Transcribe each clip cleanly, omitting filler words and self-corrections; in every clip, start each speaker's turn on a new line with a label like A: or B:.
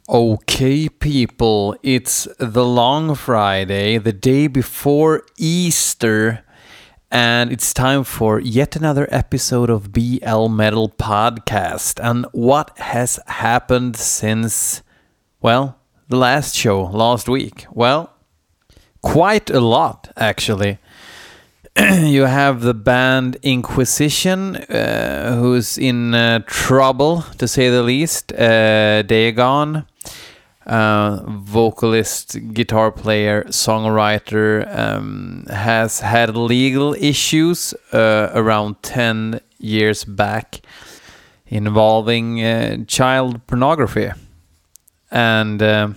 A: Okay, people, it's the long Friday, the day before Easter, and it's time for yet another episode of BL Metal Podcast. And what has happened since, well, the last show last week? Well, quite a lot, actually. You have the band Inquisition, who's in trouble, to say the least. Dagon, vocalist, guitar player, songwriter, has had legal issues around 10 years back involving child pornography. And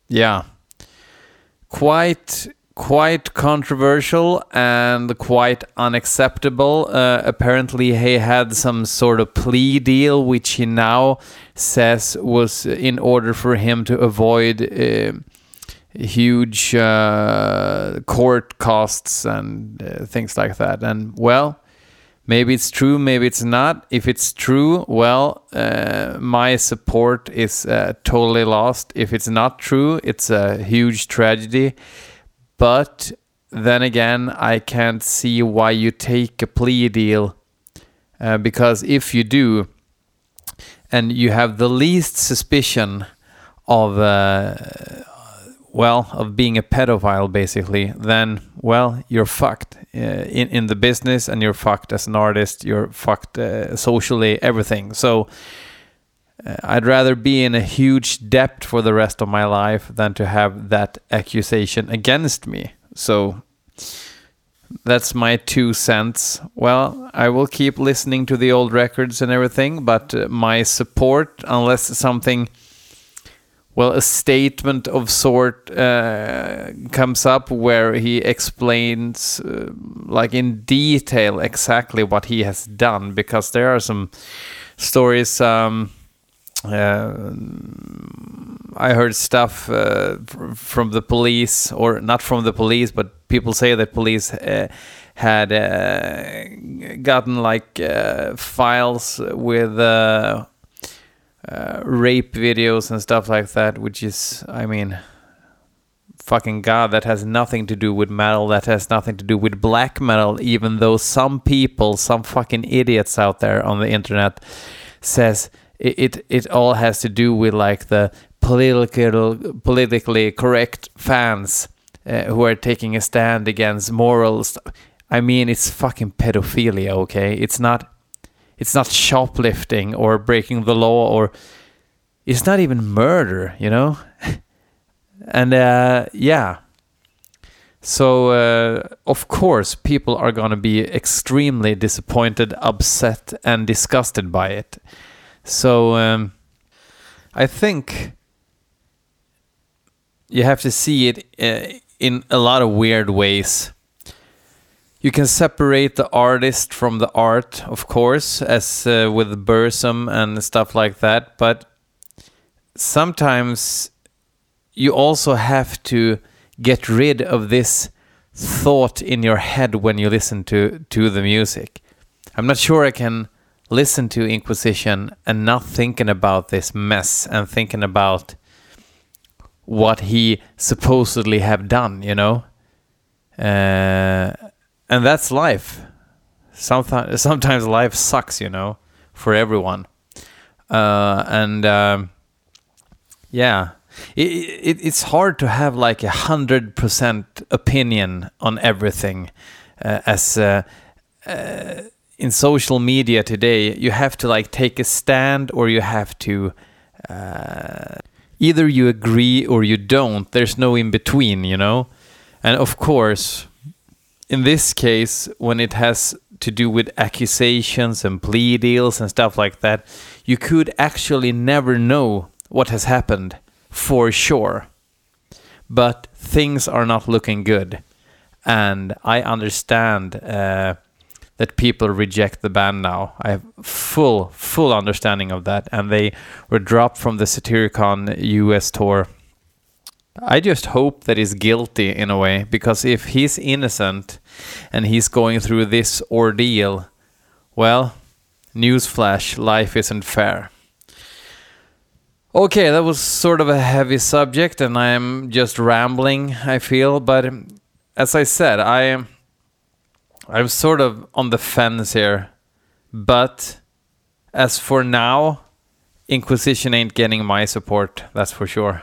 A: quite controversial and quite unacceptable. Apparently he had some sort of plea deal, which he now says was in order for him to avoid huge court costs and things like that. And well, maybe it's true, maybe it's not. If it's true, well, my support is totally lost. If it's not true, it's a huge tragedy. But then again, I can't see why you take a plea deal, because if you do, and you have the least suspicion of being a pedophile, basically, then, well, you're fucked in the business, and you're fucked as an artist, you're fucked socially, everything. So I'd rather be in a huge debt for the rest of my life than to have that accusation against me. So that's my 2 cents. Well, I will keep listening to the old records and everything, but my support, unless something, well, a statement of sort comes up where he explains like in detail exactly what he has done, because there are some stories. I heard stuff from the police, or not from the police, but people say that police had gotten like files with rape videos and stuff like that, which is, I mean, fucking God, that has nothing to do with metal, that has nothing to do with black metal, even though some people, some fucking idiots out there on the internet says it all has to do with like the politically correct fans who are taking a stand against morals. I mean, it's fucking pedophilia, okay? It's not shoplifting or breaking the law, or it's not even murder, you know? And yeah. So of course people are going to be extremely disappointed, upset, and disgusted by it. So I think you have to see it in a lot of weird ways. You can separate the artist from the art, of course, as with Burzum and stuff like that. But sometimes you also have to get rid of this thought in your head when you listen to the music. I'm not sure I can listen to Inquisition and not thinking about this mess and thinking about what he supposedly have done, you know? And that's life. Sometimes life sucks, you know, for everyone. Yeah, it's hard to have like 100% opinion on everything, as in social media today. You have to like take a stand, or you have to either you agree or you don't. There's no in between, you know. And of course, in this case, when it has to do with accusations and plea deals and stuff like that, you could actually never know what has happened for sure. But things are not looking good. And I understand that people reject the band now. I have full understanding of that. And they were dropped from the Satyricon US tour. I just hope that he's guilty in a way, because if he's innocent and he's going through this ordeal, well, newsflash, life isn't fair. Okay, that was sort of a heavy subject, and I'm just rambling, I feel. But as I said, I'm sort of on the fence here. But as for now, Inquisition ain't getting my support, that's for sure.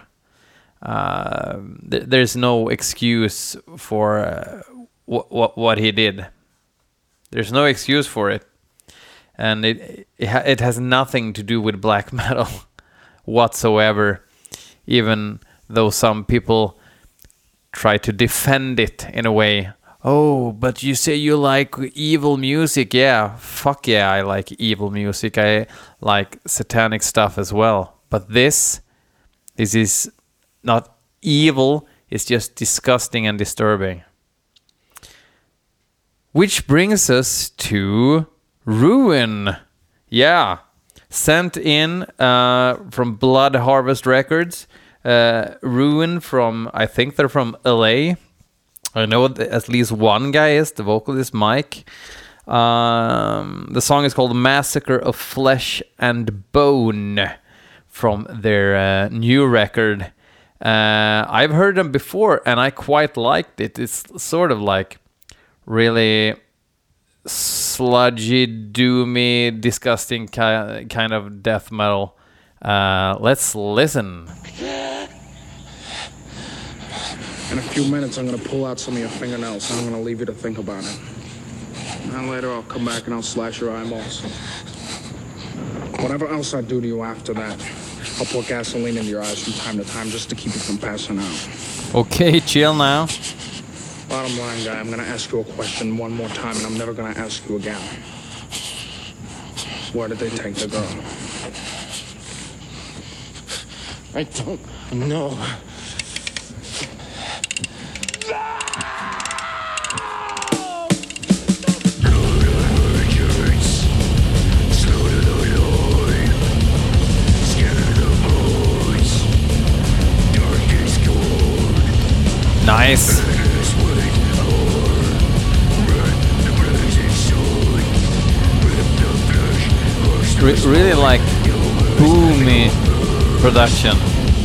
A: There's no excuse for what he did. There's no excuse for it. And it has nothing to do with black metal whatsoever, even though some people try to defend it in a way. Oh, but you say you like evil music. Yeah, fuck yeah, I like evil music. I like satanic stuff as well. But this is not evil, it's just disgusting and disturbing. Which brings us to Ruin. Yeah, sent in from Blood Harvest Records. Ruin from, I think they're from LA. I know at least one guy is, the vocalist Mike. The song is called Massacre of Flesh and Bone from their new record. I've heard them before and I quite liked it. It's sort of like really sludgy, doomy, disgusting kind of death metal. Let's listen.
B: In a few minutes, I'm gonna pull out some of your fingernails and I'm gonna leave you to think about it. And later, I'll come back and I'll slash your eyeballs. Whatever else I do to you after that, I'll pour gasoline into your eyes from time to time just to keep you from passing out.
A: Okay, chill now.
B: Bottom line, guy, I'm gonna ask you a question one more time and I'm never gonna ask you again. Where did they take the girl?
C: I don't know.
A: Nice. Really like boomy production.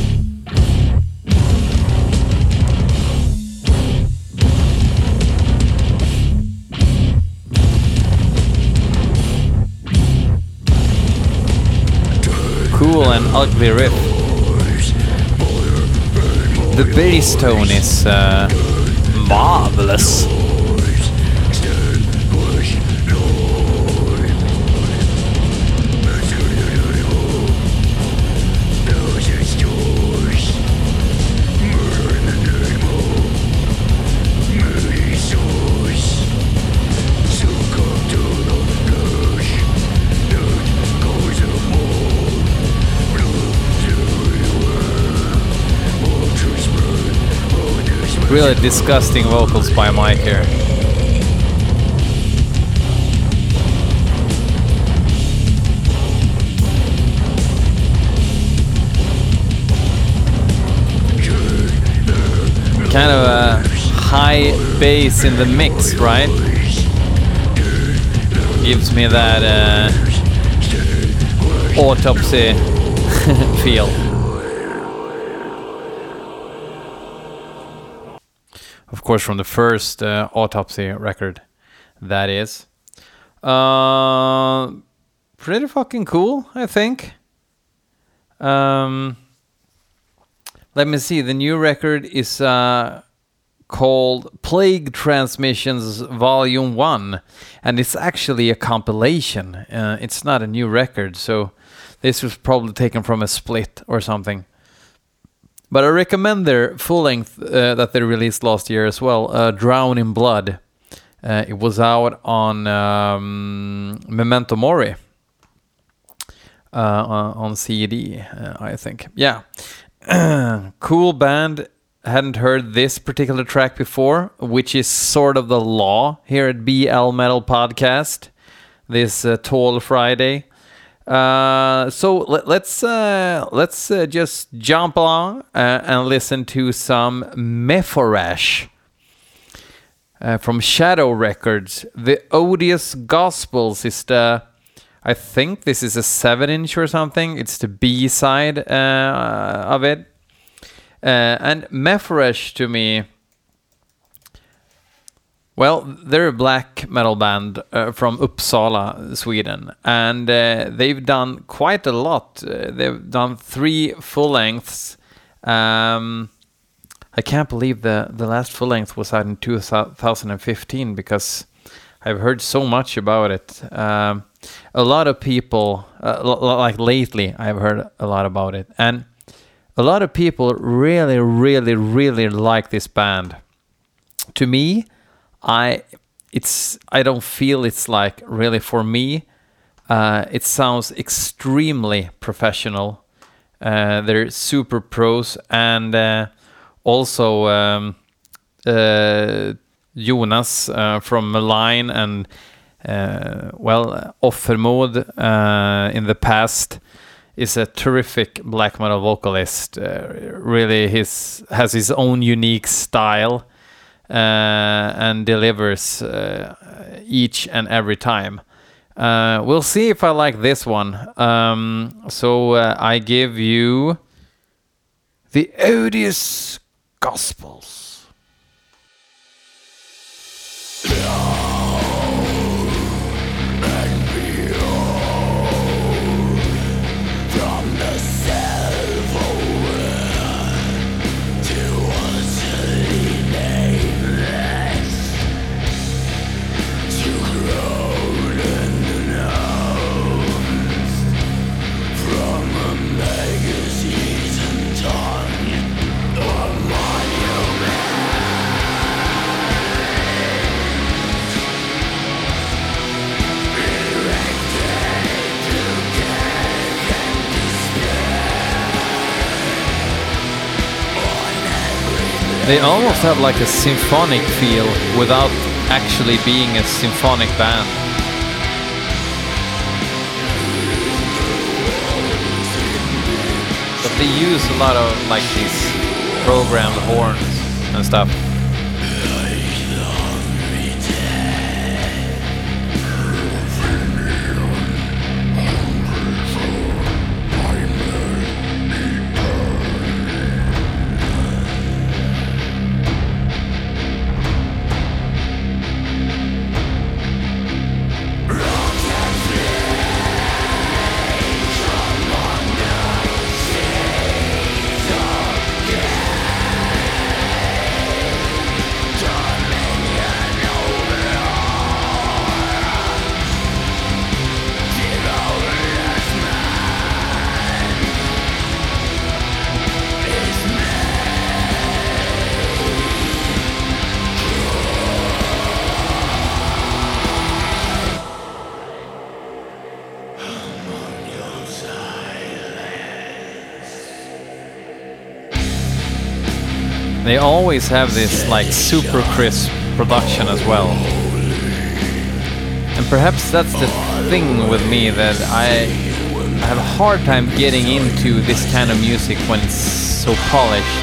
A: Cool and ugly riff. The bass tone is marvelous. Really disgusting vocals by Mike here. Kind of a high bass in the mix, right? Gives me that Autopsy feel. Of course, from the first Autopsy record, that is. Pretty fucking cool, I think. Let me see. The new record is called Plague Transmissions Volume 1. And it's actually a compilation. It's not a new record, so this was probably taken from a split or something. But I recommend their full length that they released last year as well, Drown in Blood. It was out on Memento Mori on CD, I think. Yeah, cool band. Hadn't heard this particular track before, which is sort of the law here at BL Metal Podcast. This Tall Friday. So let's just jump along and listen to some Mephorash from Shadow Records. The Odious Gospels is the I think this is a 7-inch or something. It's the B side of it. And Mephoresh to me, well, they're a black metal band from Uppsala, Sweden, and they've done quite a lot. They've done 3 full lengths. I can't believe the last full length was out in 2015 because I've heard so much about it. A lot of people, like lately, I've heard a lot about it, and a lot of people really, really, really like this band. To me, I don't feel it's like really for me. It sounds extremely professional. They're super pros, and also Jonas from Malign and Offermod in the past is a terrific black metal vocalist. Really, has his own unique style. And delivers each and every time. We'll see if I like this one. So I give you the Odious Gospels. They almost have like a symphonic feel without actually being a symphonic band. But they use a lot of like these programmed horns and stuff. They always have this like super crisp production as well. And perhaps that's the thing with me, that I have a hard time getting into this kind of music when it's so polished.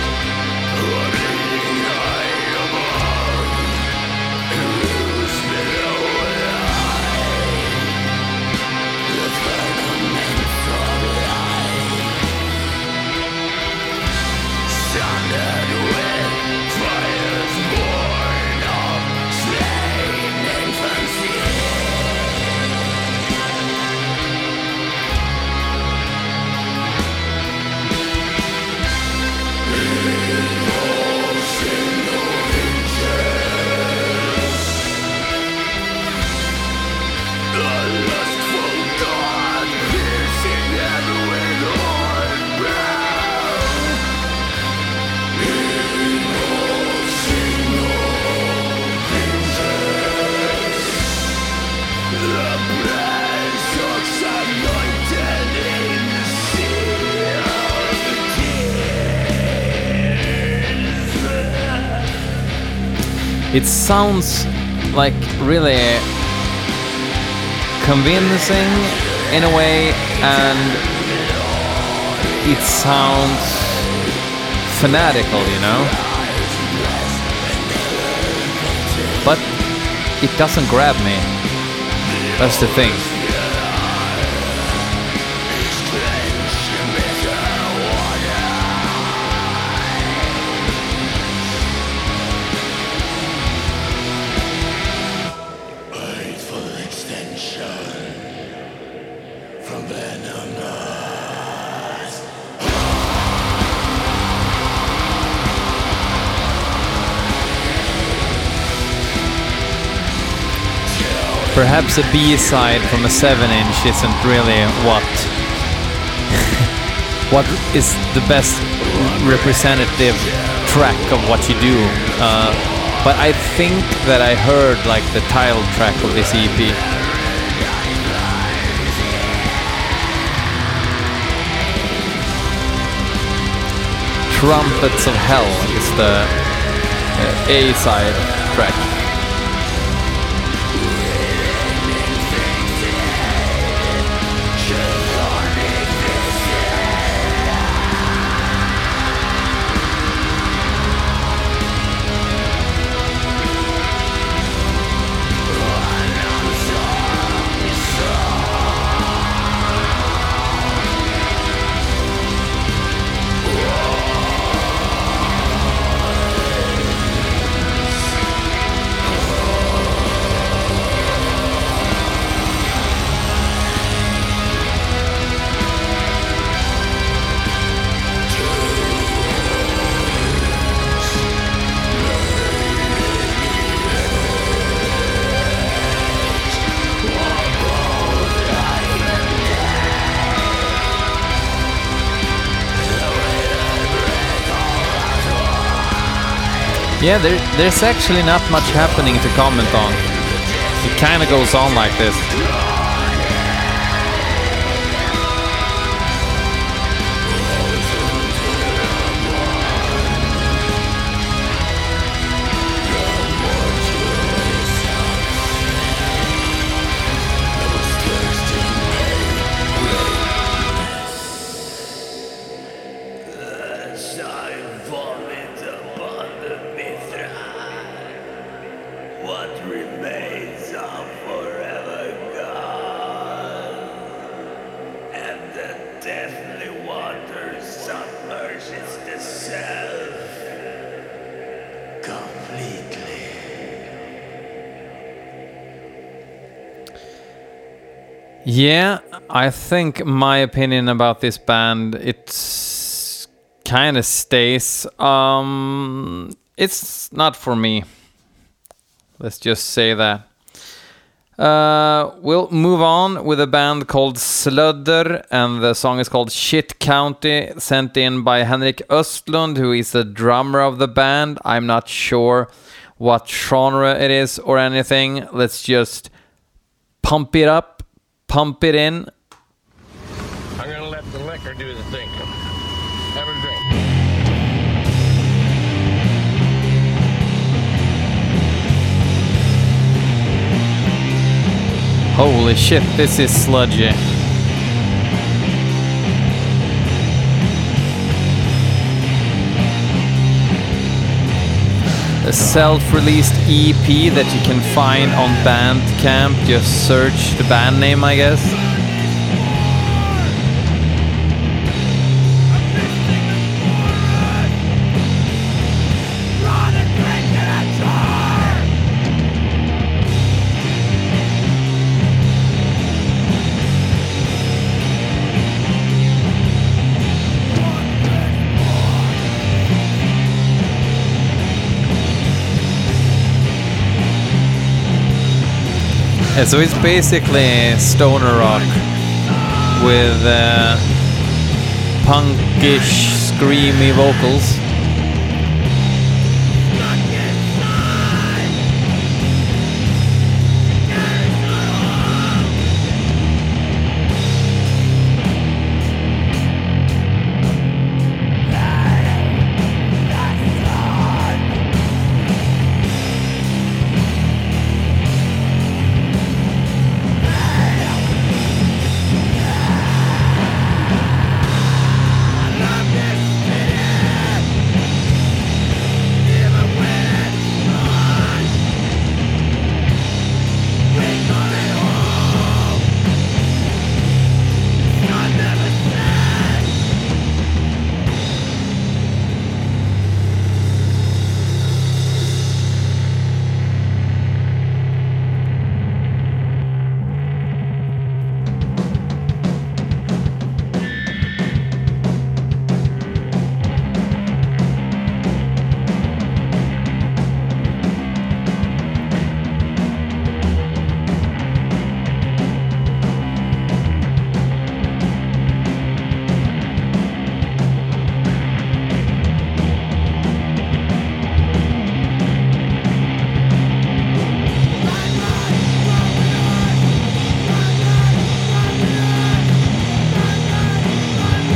A: It sounds like really convincing in a way, and it sounds fanatical, you know? But it doesn't grab me. That's the thing. perhaps a B-side from a 7-inch isn't really what is the best representative track of what you do. But I think that I heard like the title track of this EP. Trumpets of Hell is the A-side track. Yeah, there's actually not much happening to comment on. It kind of goes on like this. Yeah, I think my opinion about this band, it's kind of stays. It's not for me. Let's just say that. We'll move on with a band called Sludder, and the song is called Shit County, sent in by Henrik Östlund, who is the drummer of the band. I'm not sure what genre it is or anything. Let's just pump it up. Pump it in.
C: I'm gonna let the liquor do the thing. Have a drink.
A: Holy shit, this is sludgy. A self-released EP that you can find on Bandcamp. Just search the band name, I guess. So it's basically stoner rock with punkish, screamy vocals.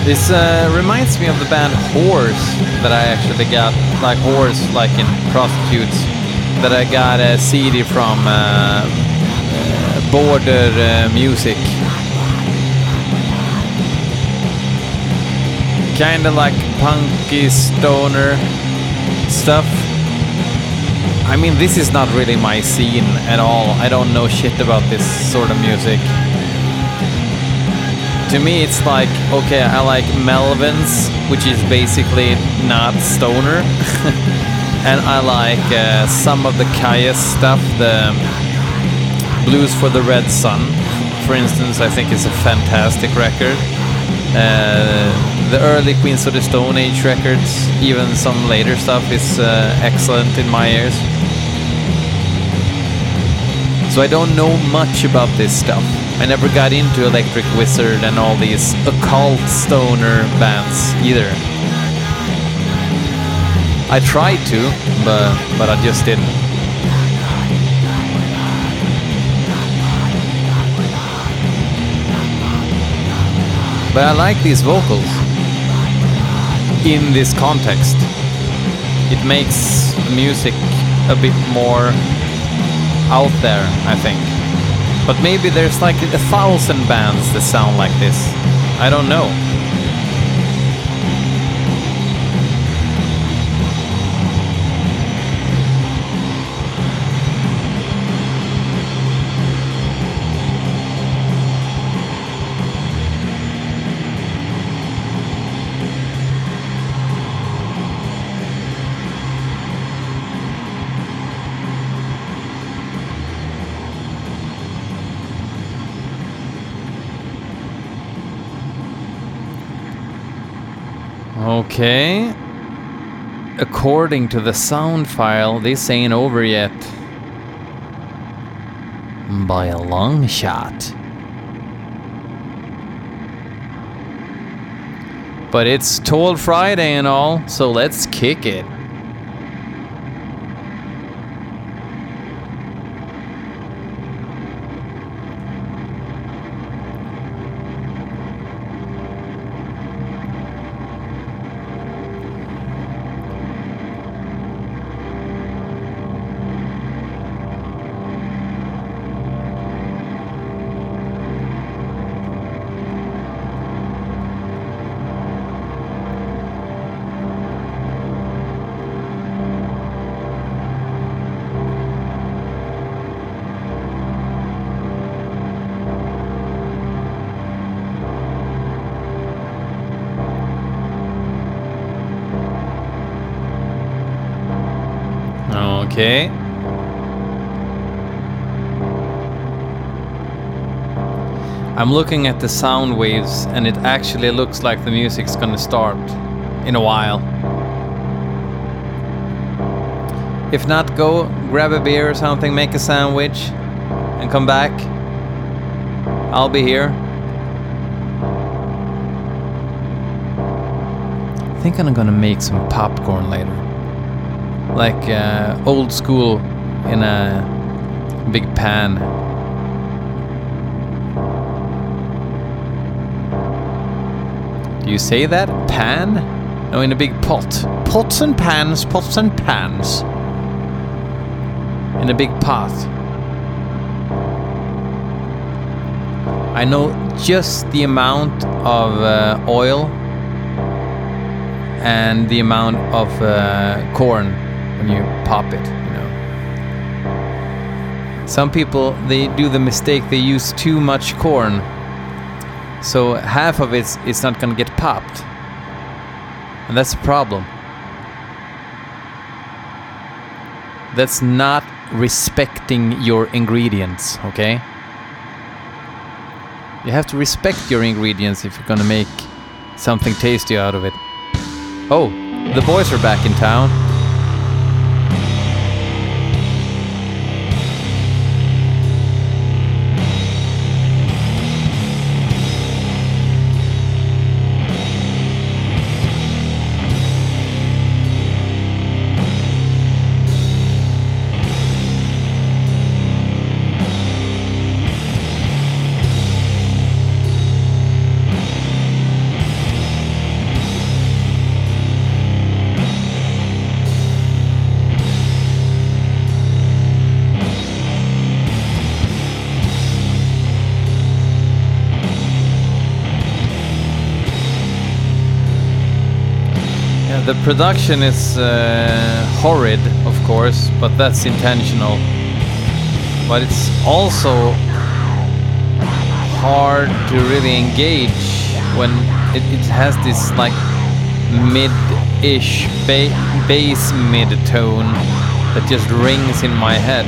A: This reminds me of the band Horse that I actually got, like Horse, like in Prostitutes, that I got a CD from Border Music. Kinda like punky stoner stuff. I mean, this is not really my scene at all. I don't know shit about this sort of music. To me, it's like, okay, I like Melvins, which is basically not stoner. And I like some of the Kaya stuff, the Blues for the Red Sun, for instance, I think is a fantastic record. The early Queens of the Stone Age records, even some later stuff, is excellent in my ears. So I don't know much about this stuff. I never got into Electric Wizard and all these occult stoner bands either. I tried to, but I just didn't. But I like these vocals in this context. It makes the music a bit more out there, I think. But maybe there's like 1,000 bands that sound like this. I don't know. Okay. According to the sound file, this ain't over yet. By a long shot. But it's Toll Friday and all, so let's kick it. Okay. I'm looking at the sound waves and it actually looks like the music's gonna start in a while. If not, go grab a beer or something, make a sandwich and come back. I'll be here. I think I'm gonna make some popcorn later. Like old school in a big pan. Do you say that? Pan? No, in a big pot. Pots and pans, pots and pans. In a big pot. I know just the amount of oil and the amount of corn when you pop it, you know. Some people, they do the mistake, they use too much corn, so half of it's not gonna get popped, and that's a problem. That's not respecting your ingredients, okay? You have to respect your ingredients if you're gonna make something tasty out of it. Oh, the boys are back in town. The production is horrid, of course, but that's intentional. But it's also hard to really engage when it has this like mid-ish bass mid-tone that just rings in my head.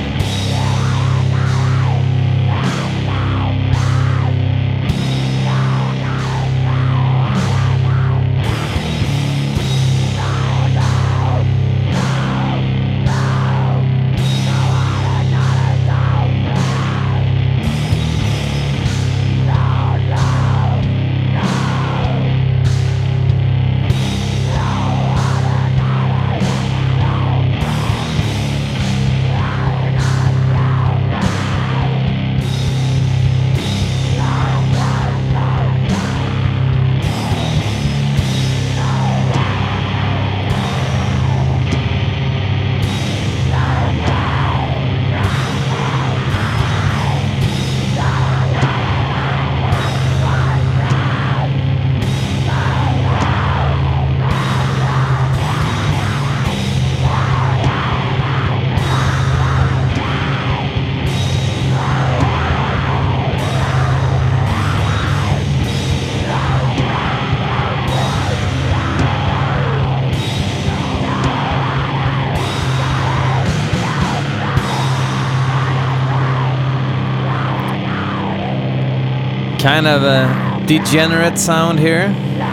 A: Kind of a degenerate sound here.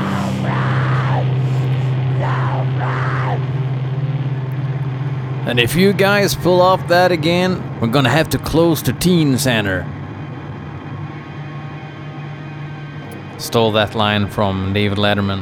A: And if you guys pull off that again, we're gonna have to close the teen center. Stole that line from David Letterman.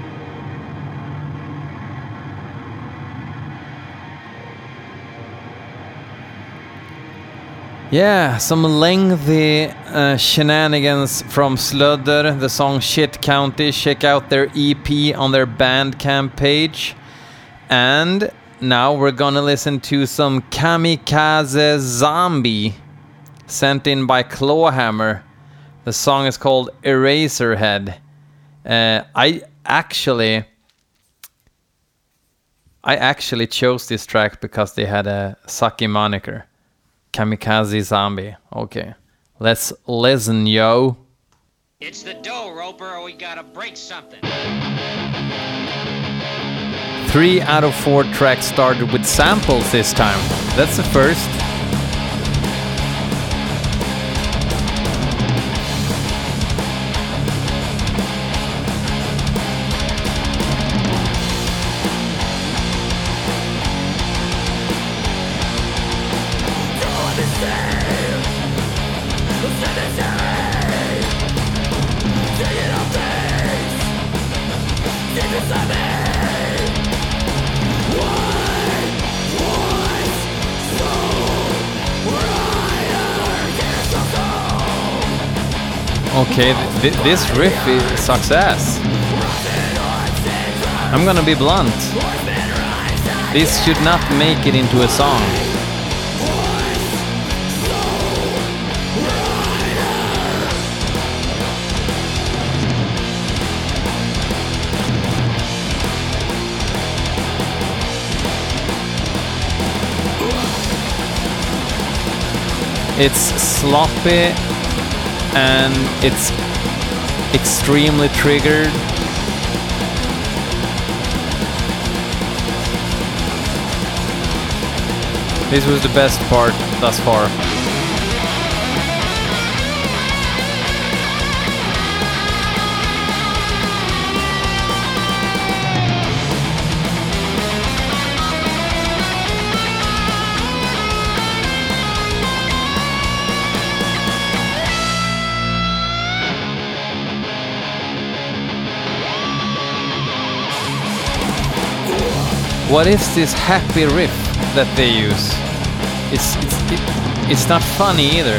A: Yeah, some lengthy shenanigans from Sludder, the song Shit County. Check out their EP on their Bandcamp page. And now we're gonna listen to some Kamikaze Zombie, sent in by Clawhammer. The song is called Eraserhead. I actually chose this track because they had a sucky moniker. Kamikaze Zombie. Okay. Let's listen, yo.
D: It's the dough, Roper, or we gotta break something.
A: 3 out of 4 tracks started with samples this time. That's the first. Okay, this riff sucks ass. I'm gonna be blunt. This should not make it into a song. It's sloppy and it's extremely triggered. This was the best part thus far. What is this happy riff that they use? It's not funny either.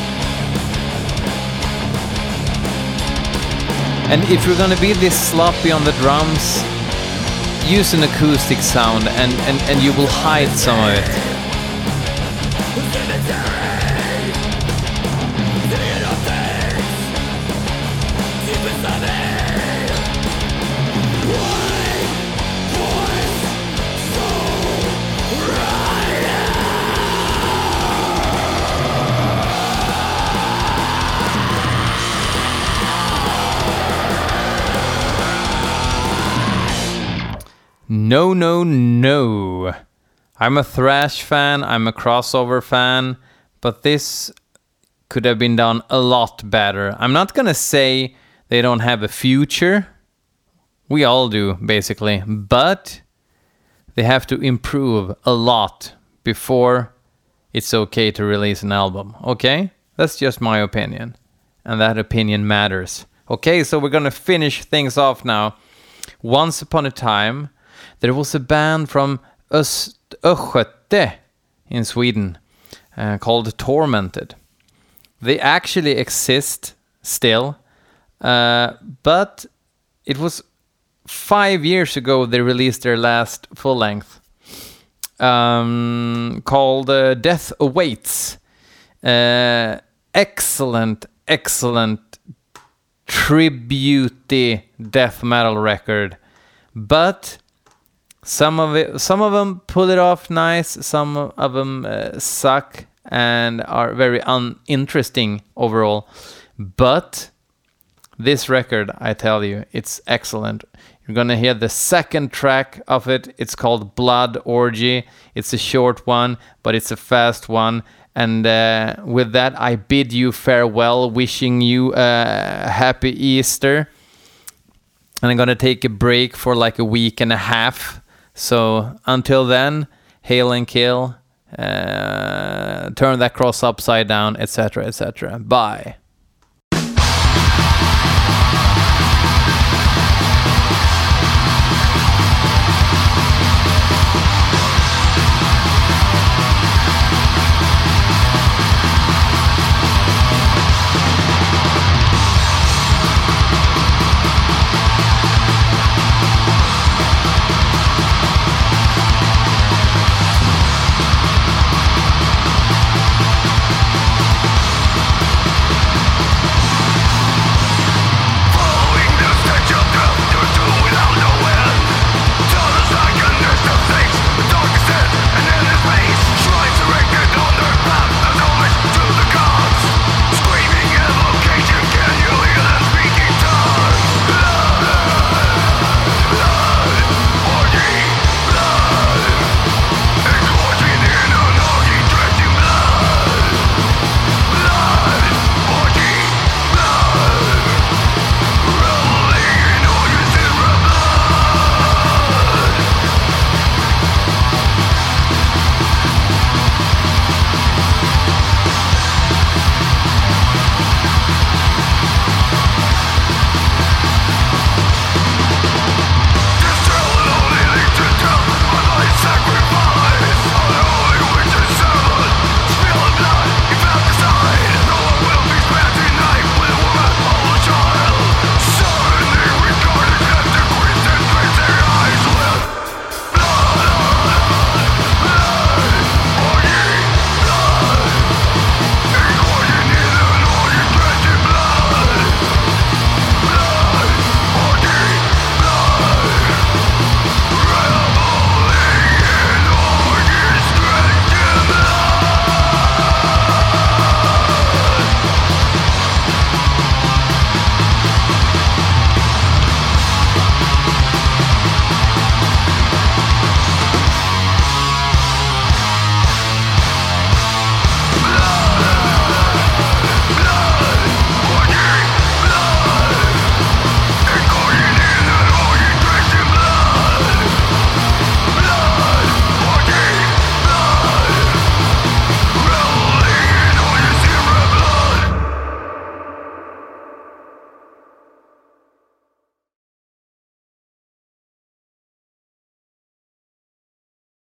A: And if you're gonna be this sloppy on the drums, use an acoustic sound and you will hide some of it. No, no, no. I'm a thrash fan, I'm a crossover fan, but this could have been done a lot better. I'm not gonna say they don't have a future. We all do, basically. But they have to improve a lot before it's okay to release an album. Okay? That's just my opinion. And that opinion matters. Okay, so we're gonna finish things off now. Once upon a time, there was a band from Östgöte in Sweden called Tormented. They actually exist still, but it was 5 years ago they released their last full length called Death Awaits. Excellent tribute death metal record, but some of them pull it off nice, some of them suck and are very uninteresting overall. But this record, I tell you, it's excellent. You're gonna hear the second track of it. It's called Blood Orgy. It's a short one, but it's a fast one. And with that, I bid you farewell, wishing you a happy Easter. And I'm gonna take a break for like a week and a half. So until then, hail and kill, turn that cross upside down, etc., etc. Bye.